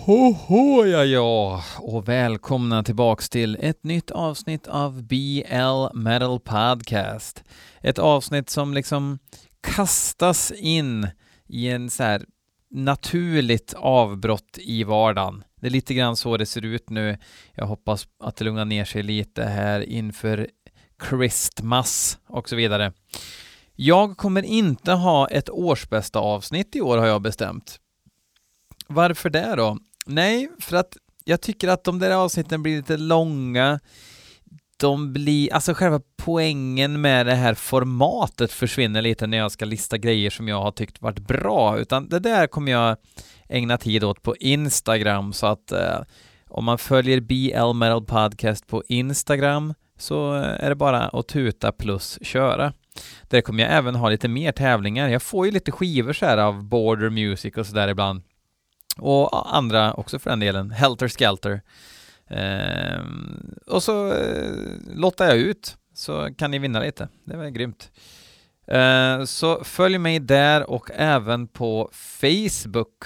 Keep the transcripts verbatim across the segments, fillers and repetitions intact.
Ho, ho, ja, ja, och välkomna tillbaks till ett nytt avsnitt av B L Metal Podcast. Ett avsnitt som liksom kastas in i en så här naturligt avbrott i vardagen. Det är lite grann så det ser ut nu. Jag hoppas att det lugnar ner sig lite här inför Christmas och så vidare. Jag kommer inte ha ett årsbästa avsnitt i år, har jag bestämt. Varför det då? Nej, för att jag tycker att de där avsnitten blir lite långa. De blir, alltså själva poängen med det här formatet försvinner lite när jag ska lista grejer som jag har tyckt varit bra. Utan det där kommer jag ägna tid åt på Instagram. Så att eh, om man följer B L Metal Podcast på Instagram så är det bara att tuta plus köra. Där kommer jag även ha lite mer tävlingar. Jag får ju lite skivor så här av Border Music och så där ibland. Och andra också för den delen. Helter Skelter. Eh, och så eh, lottar jag ut. Så kan ni vinna lite. Det var grymt. Eh, så följ mig där och även på Facebook.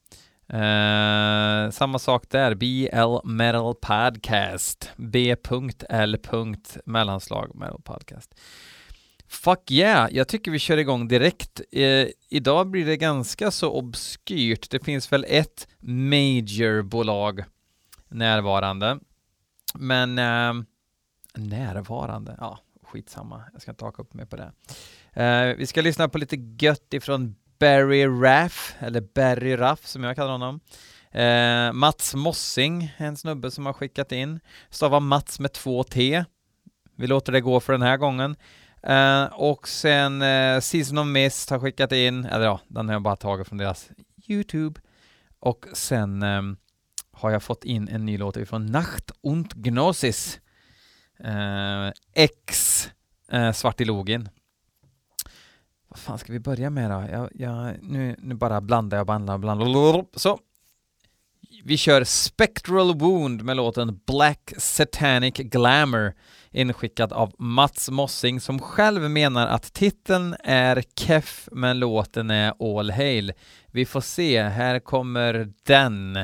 Eh, samma sak där. B L Metal Podcast. B L mellanslag Metal Podcast. Fuck yeah, jag tycker vi kör igång direkt. Eh, idag blir det ganska så obskyrt. Det finns väl ett majorbolag närvarande. Men eh, närvarande, ja, skitsamma. Jag ska inte haka upp mig på det. Eh, vi ska lyssna på lite gött ifrån Barry Raff, eller Barry Raff som jag kallar honom. Eh, Mats Mossing, en snubbe som har skickat in. Stavar Mats med två T. Vi låter det gå för den här gången. Uh, och sen uh, Season of Mist har skickat in, eller ja, den har jag bara tagit från deras YouTube. Och sen um, har jag fått in en ny låt från Nacht und Gnosis. Uh, X uh, Svartilogin. Vad fan ska vi börja med då? Jag, jag, nu, nu bara blandar jag blandar, blandar. Så. Vi kör Spectral Wound med låten Black Satanic Glamour, inskickad av Mats Mossing, som själv menar att titeln är keff men låten är all hail. Vi får se, här kommer den.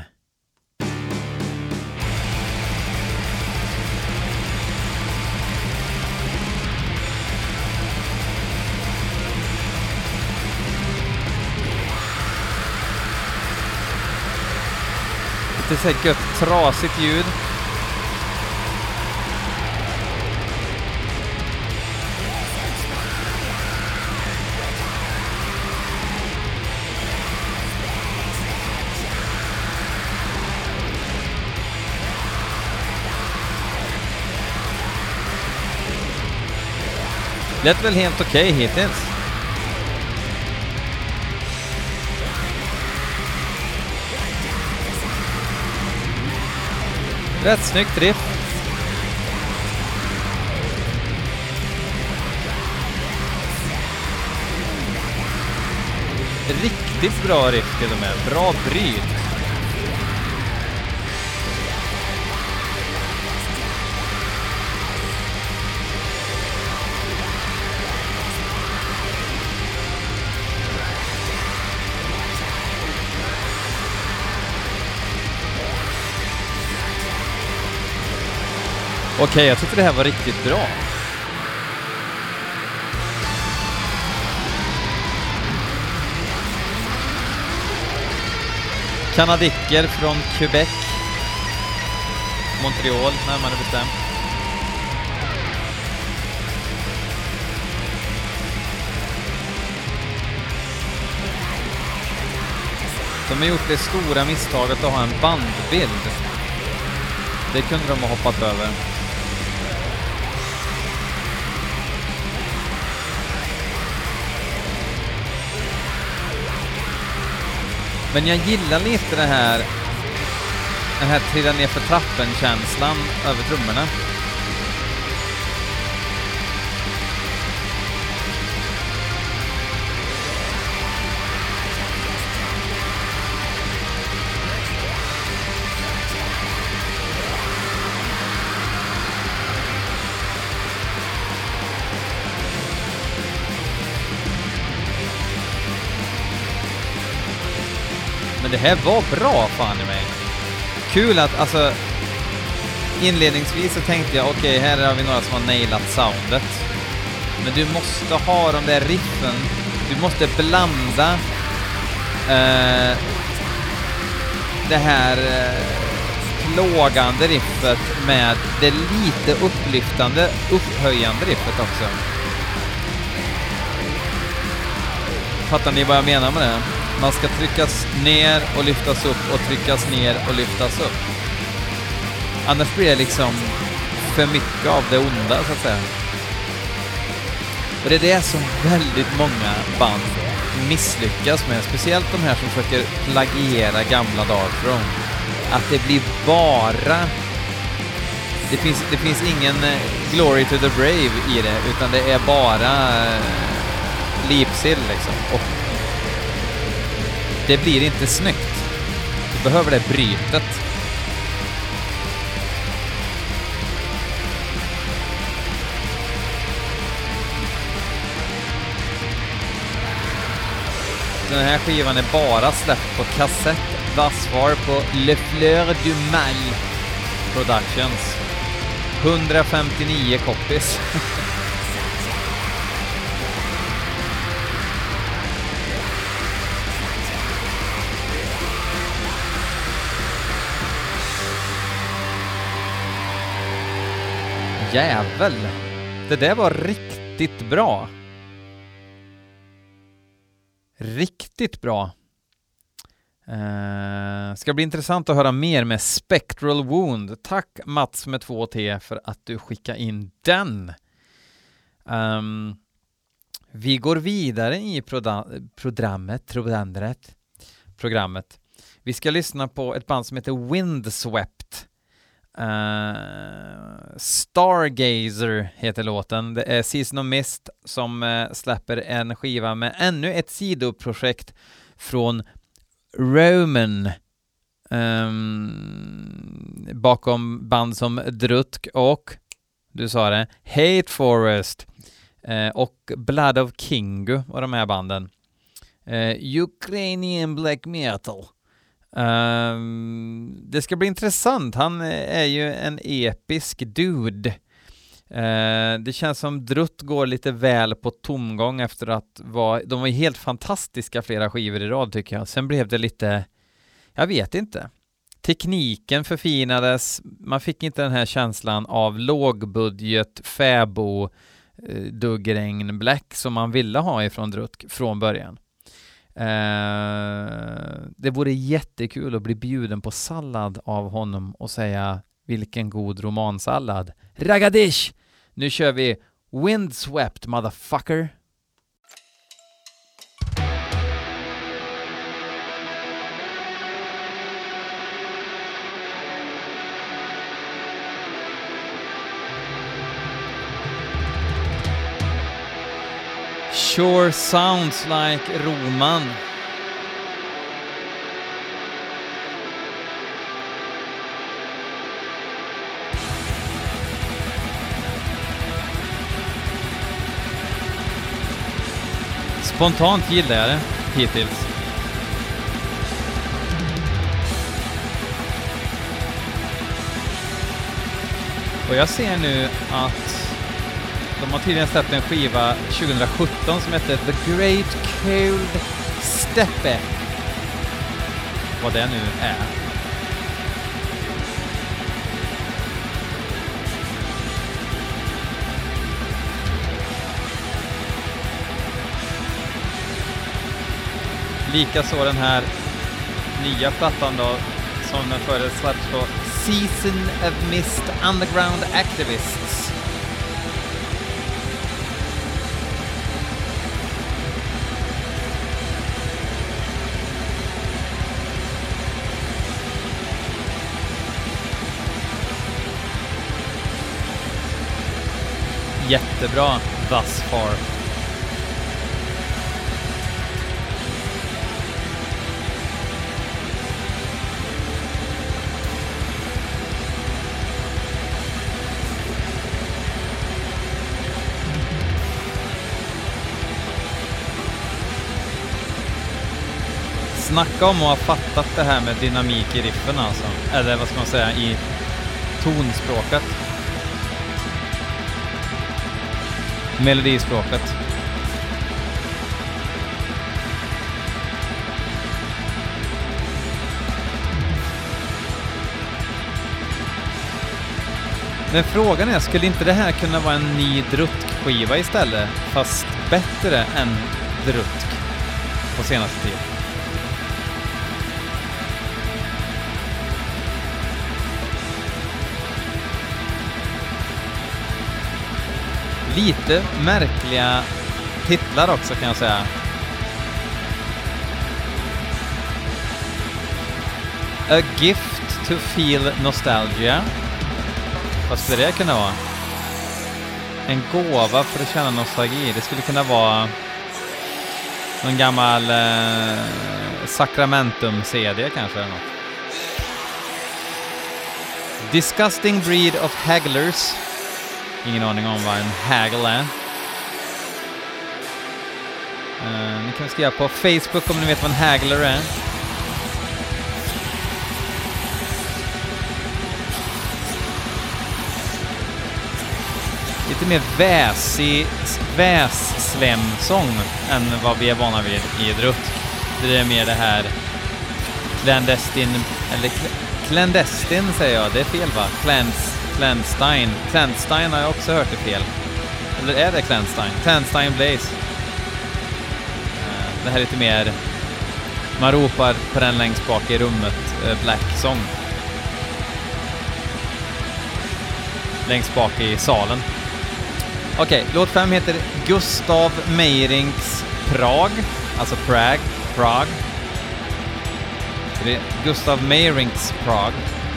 Lite så här gött, trasigt ljud. Lät väl helt okej okay hittills. Rätt snyggt riff. Riktigt bra riff till och med. Bra bryt. Okej, okay, jag tycker det här var riktigt bra. Kanadiker från Quebec. Montreal, närmare bestämt. De har gjort det stora misstaget att ha en bandbild. Det kunde de ha hoppat över. Men jag gillar lite det här, den här trilla ner för trappen-känslan över trummorna. Men det här var bra, fan i mig. kul att alltså inledningsvis så tänkte jag okej, okay, här har vi några som har nailat soundet. Men du måste ha de där riffen. Du måste blanda eh, det här eh, plågande riffet med det lite upplyftande, upphöjande riffet också. Fattar ni vad jag menar med det? Man ska tryckas ner och lyftas upp och tryckas ner och lyftas upp. Annars blir det liksom för mycket av det onda, så att säga. Och det är det som väldigt många band misslyckas med. Speciellt de här som försöker plagiera gamla Dark Throne. Att det blir bara... Det finns, det finns ingen Glory to the Brave i det, utan det är bara Leipzig liksom. Och det blir inte snyggt. Du behöver det brytet. Den här skivan är bara släppt på kassett. Thus far på Le Fleur du Mal Productions. hundrafemtionio copies. Jävel. Det där var riktigt bra. Riktigt bra. Uh, ska bli intressant att höra mer med Spectral Wound. Tack Mats med två T för att du skickade in den. Um, vi går vidare i proda- programmet, programmet. Programmet. Vi ska lyssna på ett band som heter Windswept. Uh, Stargazer heter låten. Det är Season of Mist som uh, släpper en skiva med ännu ett sidoprojekt från Roman, um, bakom band som Drutk och, du sa det, Hate Forest uh, och Blood of Kingu och de här banden. Uh, Ukrainian Black Metal. Um, det ska bli intressant. Han är ju en episk dude. Uh, det känns som Drutt går lite väl på tomgång efter att vara, de var helt fantastiska flera skivor i rad tycker jag. Sen blev det lite, jag vet inte. Tekniken förfinades. Man fick inte den här känslan av lågbudget, fäbo, uh, duggregn, black som man ville ha ifrån Drutt från början. Uh, det vore jättekul att bli bjuden på sallad av honom och säga vilken god romansallad. Ragadish! Nu kör vi Windswept, motherfucker. Sure sounds like Roman. Spontant gillar jag det hittills. Och jag ser nu att de har tydligen släppt en skiva tjugo sjutton som heter The Great Cold Steppe. Vad det nu är. Likaså den här nya plattan då, som den förra släpps på Season of Mist Underground Activists. Jättebra thus far. Snacka om att ha fattat det här med dynamik i riffen alltså. Eller vad ska man säga, i tonspråket. Melodispråket. Men frågan är, skulle inte det här kunna vara en ny Drutk-skiva istället? Fast bättre än Drutk på senaste tid. Lite märkliga titlar också kan jag säga. A gift to feel nostalgia. Vad skulle det kunna vara? En gåva för att känna nostalgi. Det skulle kunna vara någon gammal eh, Sacramentum-C D kanske eller något. Disgusting breed of hagglers. Ingen aning om vad en haggle är. Uh, ni kan skriva på Facebook om ni vet vad en haggler är. Lite mer väsig, vässlemsång än vad vi är vana vid i Drutk. Det är mer det här clandestin, eller clandestin säger jag, det är fel va? Clans, Clandestine. Clandestine har jag också hört det fel. Eller är det Clandestine? Clandestine Blaze. Det här är lite mer, man ropar på den längst bak i rummet, Black Song. Längst bak i salen. Okej, okay, låt fem heter Gustav Meyrings Prag, alltså Prague, Prague. Så det är Gustav Meyrings Prag.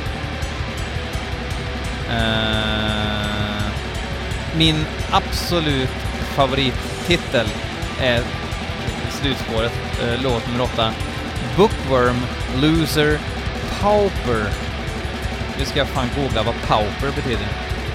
Uh, min absolut favorittitel är slutspåret, uh, låt nummer åtta. Bookworm, Loser, Pauper. Nu ska jag fan googla vad Pauper betyder.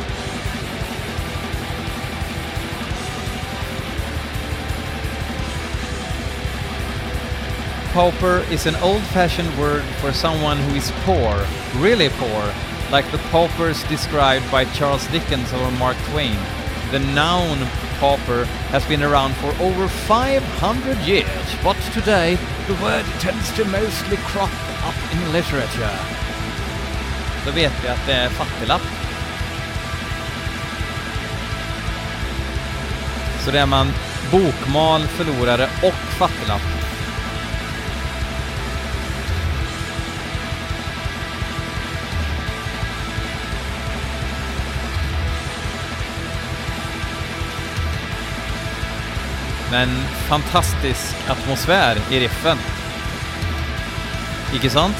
Pauper is an old-fashioned word for someone who is poor, really poor, like the paupers described by Charles Dickens or Mark Twain. The noun pauper has been around for over five hundred years, but today the word tends to mostly crop up in literature. Då vet vi att det är fattiglapp. Så det är man bokmal, förlorare och fattiglapp. Men fantastisk atmosfär i riffen. Icke sant?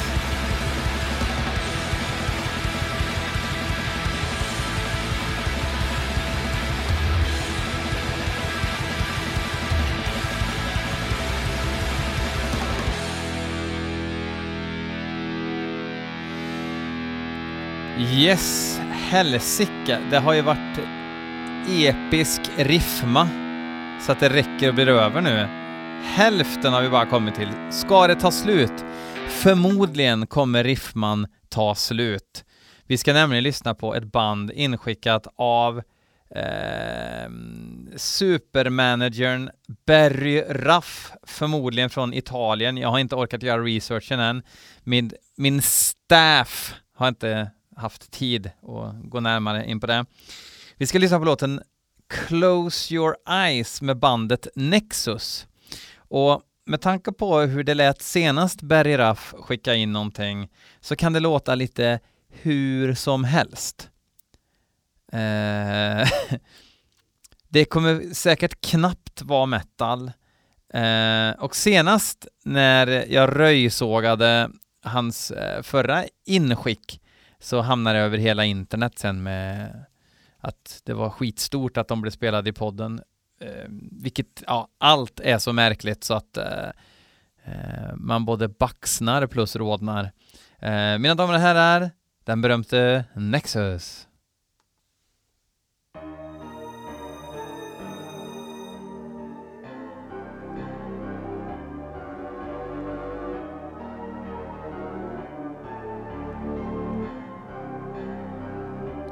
Yes, helsike. Det har ju varit episk riffma. Så att det räcker och blir över nu. Hälften har vi bara kommit till. Ska det ta slut? Förmodligen kommer riffman ta slut. Vi ska nämligen lyssna på ett band inskickat av eh, supermanagern Barry Ruff. Förmodligen från Italien. Jag har inte orkat göra researchen än. Min, min staff har inte haft tid att gå närmare in på det. Vi ska lyssna på låten Close Your Eyes med bandet Nexus. Och med tanke på hur det lät senast Barry Ruff skicka in någonting så kan det låta lite hur som helst. Eh, det kommer säkert knappt vara metal. Eh, och senast när jag röjsågade hans eh, förra inskick så hamnade jag över hela internet sen med att det var skitstort att de blev spelade i podden. Eh, vilket, ja, allt är så märkligt så att eh, man både baxnar plus rådnar. Eh, mina damer och herrar, den berömte Nexus.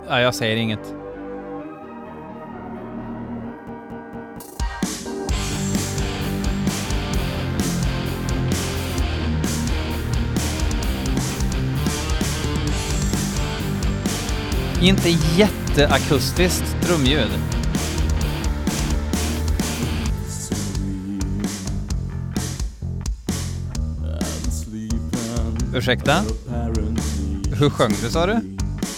Ja, jag säger inget. Inte jätteakustiskt trumljud. Ursäkta? Hur sjöng du, sa du?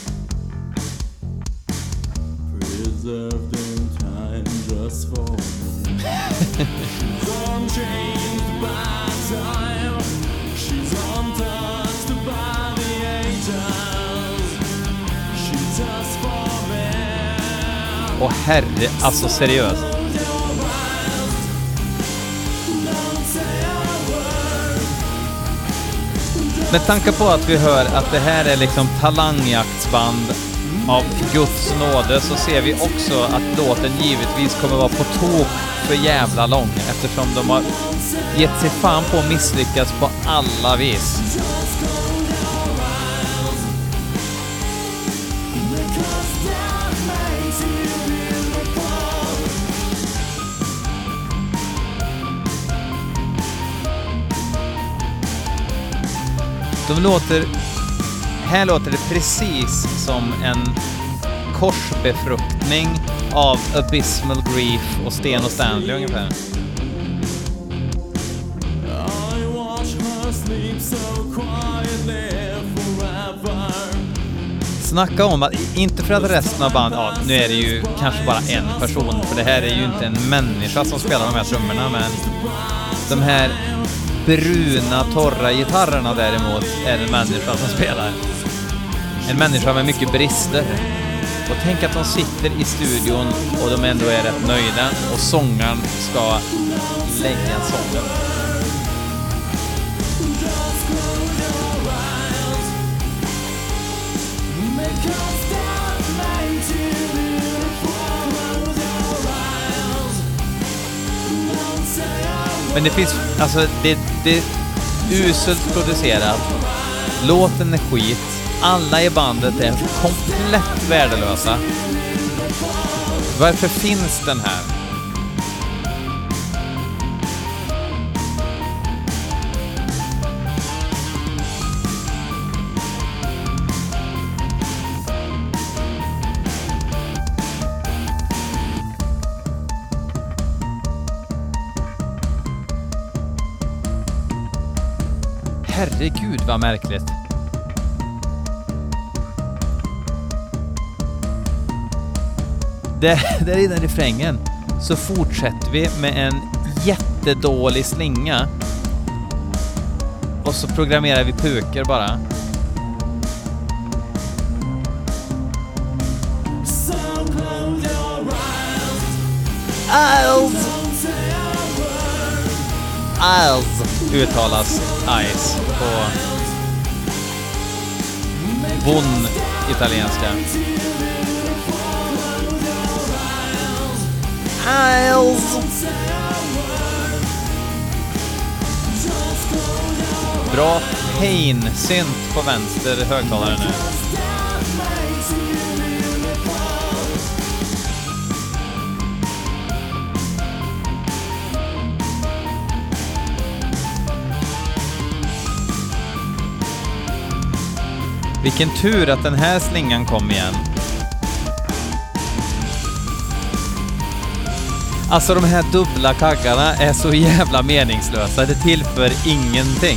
Åh herre, alltså seriöst. Med tanke på att vi hör att det här är liksom talangjaktsband av Guds nåde, så ser vi också att låten givetvis kommer vara på tok för jävla lång, eftersom de har gett sig fan på att misslyckas på alla vis. De låter, här låter det precis som en korsbefruktning av Abysmal Grief och Sten och Stanley ungefär. Snacka om att, inte för att resten av band, ja, nu är det ju kanske bara en person, för det här är ju inte en människa som spelar de här trummorna, men de här bruna, torra gitarrerna däremot är en människa som spelar. En människa med mycket brister. Och tänk att de sitter i studion och de ändå är rätt nöjda och sångaren ska lägga sången. Men det finns, alltså det, det är uselt producerat. Låten är skit. Alla i bandet är komplett värdelösa. Varför finns den här? Herregud vad märkligt. Där, där innan refrängen så fortsätter vi med en jättedålig slinga. Och så programmerar vi puker bara. Eyes. Eyes uttalas eyes på bon italienska. Eyes. Bra pain-synt på vänster högtalare nu. Vilken tur att den här slingan kom igen. Alltså de här dubbla kaggarna är så jävla meningslösa. Det tillför ingenting.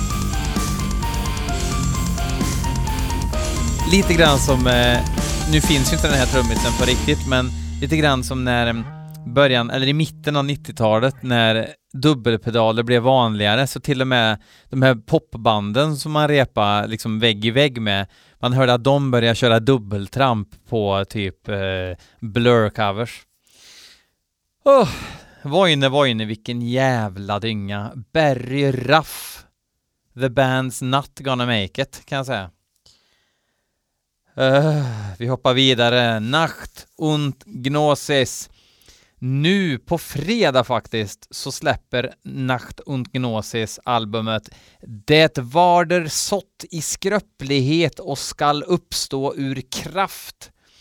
Lite grann som, eh, nu finns ju inte den här trummisen på riktigt, men lite grann som när början, eller i mitten av nittiotalet när dubbelpedaler blev vanligare, så till och med de här popbanden som man repar liksom vägg i vägg med, man hörde att de började köra dubbeltramp på typ eh, Blur-covers. Oh, Vojne, Vojne, vilken jävla dynga. Barry Ruff. The band's not gonna make it, kan jag säga. Uh, vi hoppar vidare. Nacht und Gnosis. Nu på fredag faktiskt så släpper Nacht und Gnosis albumet Det varder sått i skröplighet och skall uppstå ur kraft.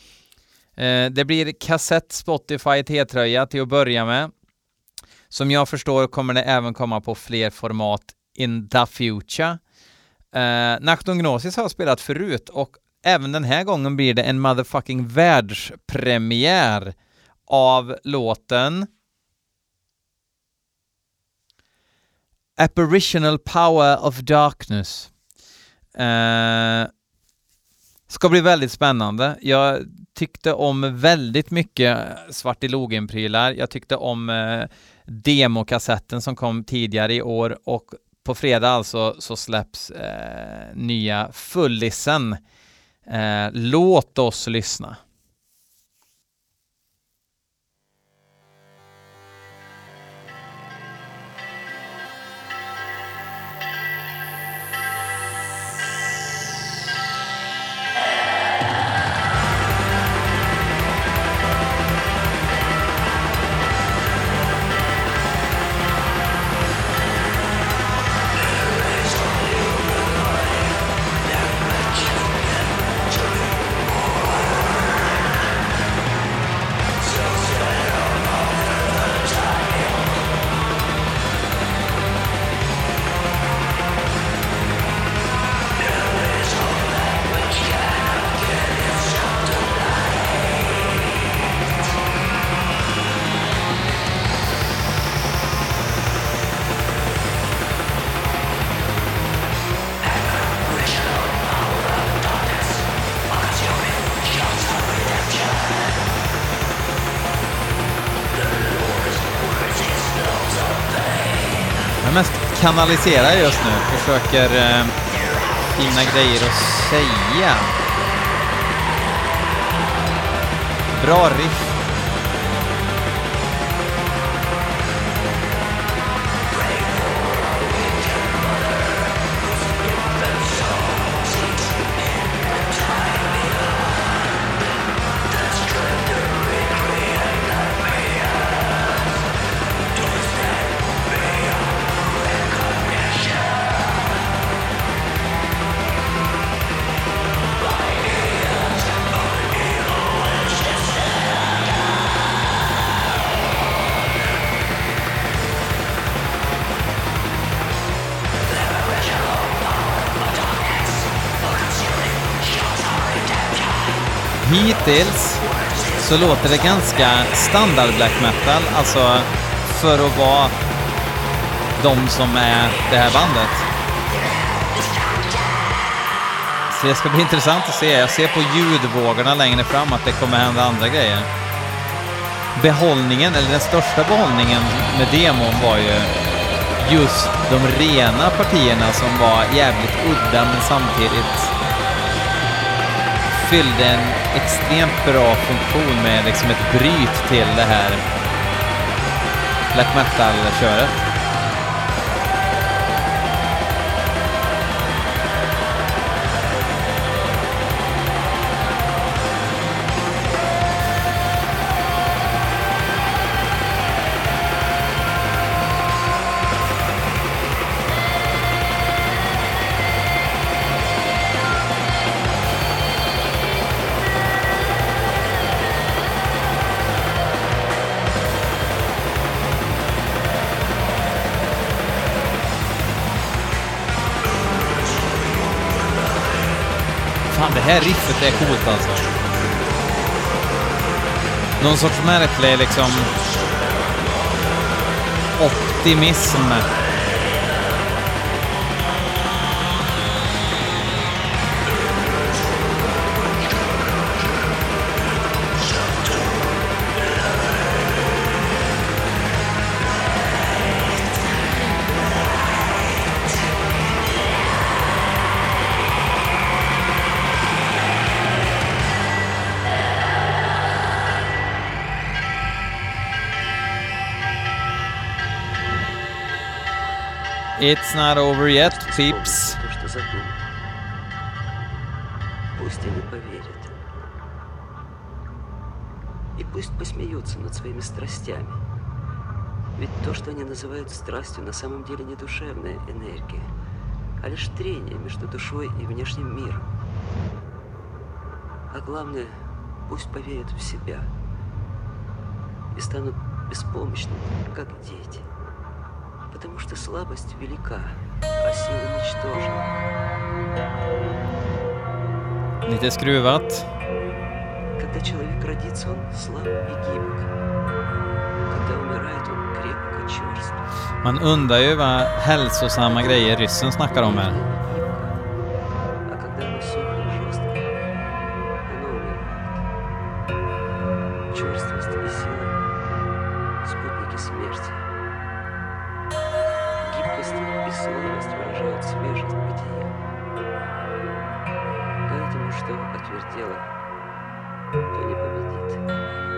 Eh, det blir kassett Spotify T-tröja till att börja med. Som jag förstår kommer det även komma på fler format in the future. Eh, Nachton Gnosis har spelat förut och även den här gången blir det en motherfucking världspremiär av låten Apparitional Power of Darkness. Eh, ska bli väldigt spännande. Jag tyckte om väldigt mycket Svartilogen-prylar. Jag tyckte om eh, demokassetten som kom tidigare i år och på fredag alltså så släpps eh, nya fullisen. Eh, låt oss lyssna. Mest kanaliserar just nu, försöker eh, finna grejer att säga. Bra riff. Hittills så låter det ganska standard black metal, alltså för att vara de som är det här bandet. Så det ska bli intressant att se. Jag ser på ljudvågorna längre fram att det kommer hända andra grejer. Behållningen, eller den största behållningen med demon var ju just de rena partierna som var jävligt udda men samtidigt fyllde en extremt bra funktion med liksom ett bryt till det här black metal-köret. Fan, det här riffet är coolt alltså. Någon sorts märklig liksom optimism. It's not over yet, peeps. Пусть они поверят. И пусть посмеются над своими страстями. Ведь то, что они называют страстью, на самом деле не душевная энергия, а лишь трение между душой и внешним миром. А главное, пусть поверят в себя и станут беспомощными, как дети. Потому что слабость велика, а сила ничтожна. Lite skruvat. Когда человек родится, он слаб и гибок. Когда умирает, он крепко черст. Man undrar ju vad hälsosamma grejer ryssen snackar om här. А когда оно сухо и жестко, оно умирает. Черствость и сила — спутники смерти. Гибкость и слабость выражают свежесть бытия. Поэтому что отвердело, то не победит.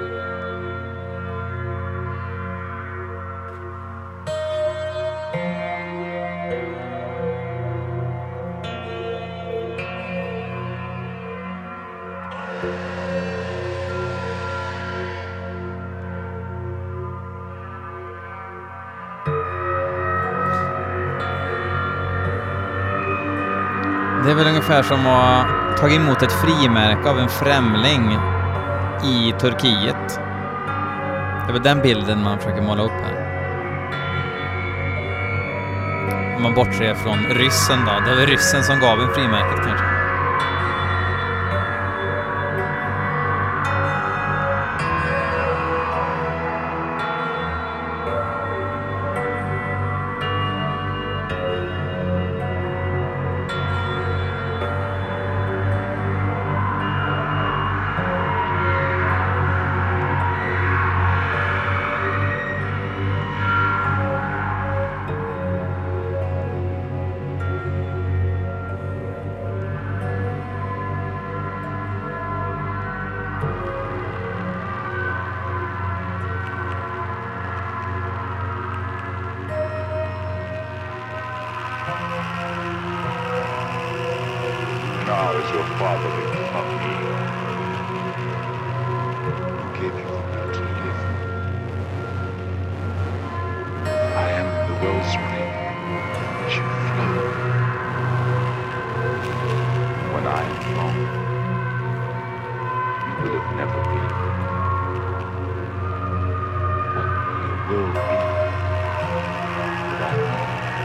Det är väl ungefär som att ha tagit emot ett frimärke av en främling i Turkiet. Det är väl den bilden man försöker måla upp här. Om man bortser från ryssen då. Det var ryssen som gav en frimärket kanske. Now is your fatherly of me, who gave you the will to live. I am the wellspring which you flow. When I am gone, you will have never been what you will be without me.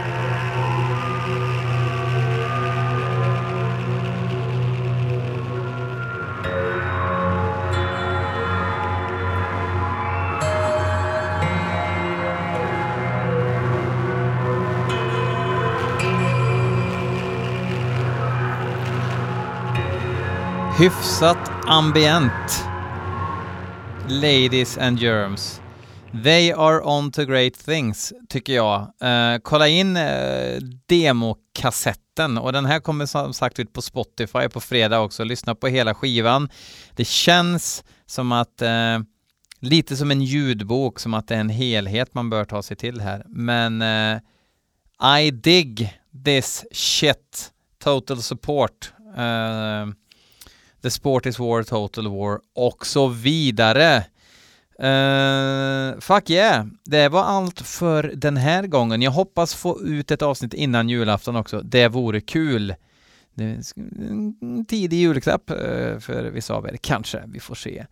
Hyfsat ambient. Ladies and germs. They are on to great things, tycker jag. Uh, kolla in uh, demokassetten. Och den här kommer som sagt ut på Spotify på fredag också. Lyssna på hela skivan. Det känns som att... Uh, lite som en ljudbok. Som att det är en helhet man bör ta sig till här. Men... Uh, I dig this shit. Total support. Uh, The Sport is War, Total War och så vidare. Uh, fuck yeah. Det var allt för den här gången. Jag hoppas få ut ett avsnitt innan julafton också. Det vore kul. Det är en tidig julklapp uh, för vissa av er. Kanske, vi får se.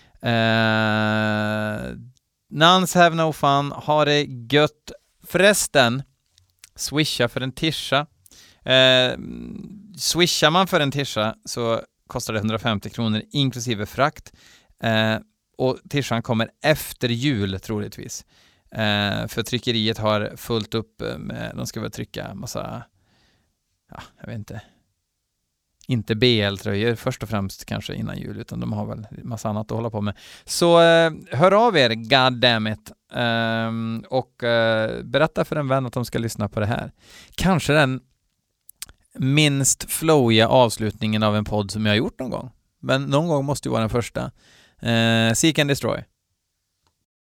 Uh, Nuns have no fun. Ha det gött. Förresten, swisha för en tisha. Uh, swishar man för en tisha så kostar det hundrafemtio kronor inklusive frakt. Eh, och tishan kommer efter jul troligtvis. Eh, för tryckeriet har fullt upp med, de ska väl trycka massa, ja, jag vet inte. Inte B L-tröjor först och främst kanske innan jul, utan de har väl massa annat att hålla på med. Så eh, hör av er, goddammit. Eh, och eh, berätta för en vän att de ska lyssna på det här. Kanske den minst flowiga avslutningen av en podd som jag har gjort någon gång. Men någon gång måste ju vara den första. Eh, Seek and Destroy.